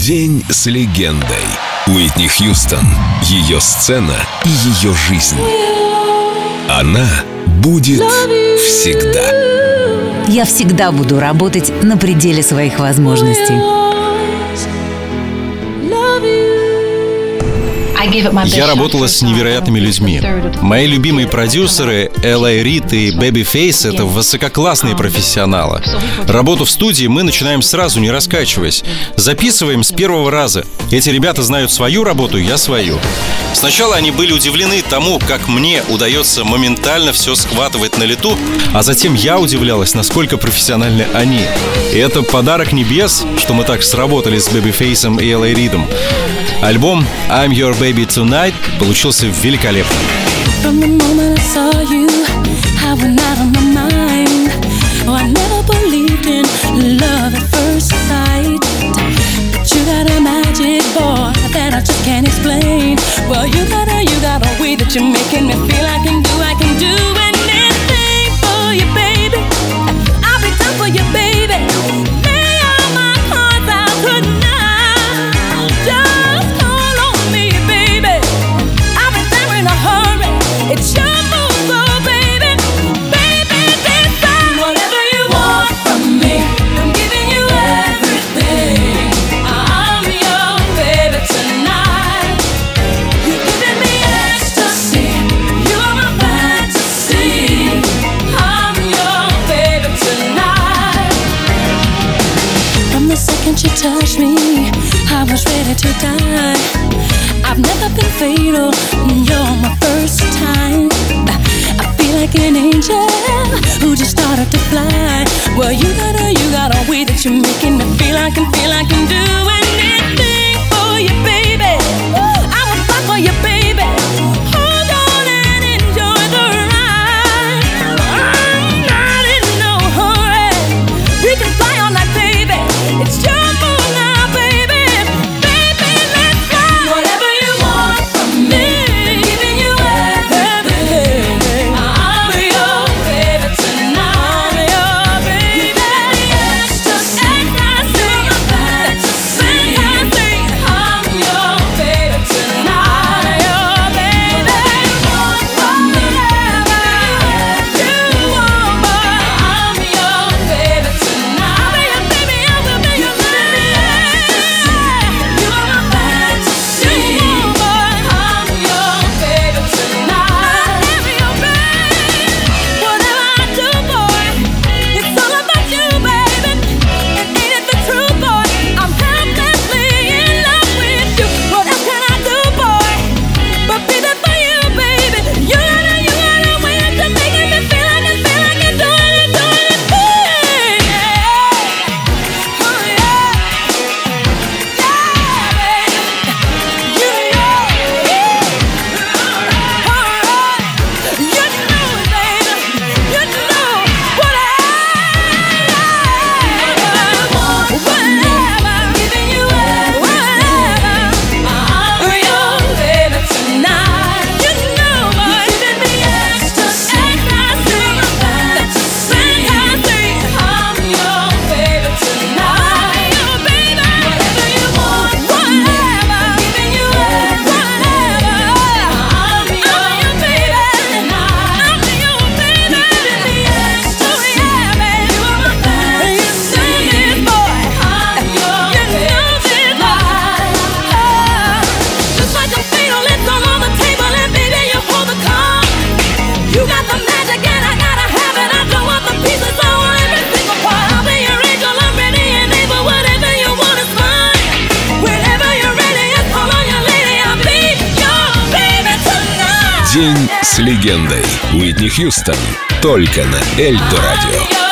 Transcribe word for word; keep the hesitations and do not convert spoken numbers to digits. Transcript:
День с легендой. Уитни Хьюстон. Ее сцена и ее жизнь. Она будет всегда. Я всегда буду работать на пределе своих возможностей. Я работала с невероятными людьми. Мои любимые продюсеры Эл Эй Рид и Babyface — это высококлассные профессионалы. Работу в студии мы начинаем сразу, не раскачиваясь. Записываем с первого раза. Эти ребята знают свою работу, я свою. Сначала они были удивлены тому, как мне удается моментально все схватывать на лету, а затем я удивлялась, насколько профессиональны они. И это подарок небес, что мы так сработали с Babyface'ом и Эл Эй Ридом. Альбом «I'm Your Baby Tonight» получился великолепным. She touched me, I was ready to die. I've never been fatal, you're my first time. I feel like an angel who just started to fly. Well, you got a, you got a way that you're making me feel I can feel I can do anything for you, baby. I will fight for you, baby. Hold on and enjoy the ride. I'm not in no hurry. We can fly all night, baby. It's just День с легендой. Уитни Хьюстон. Только на Эльдо Радио.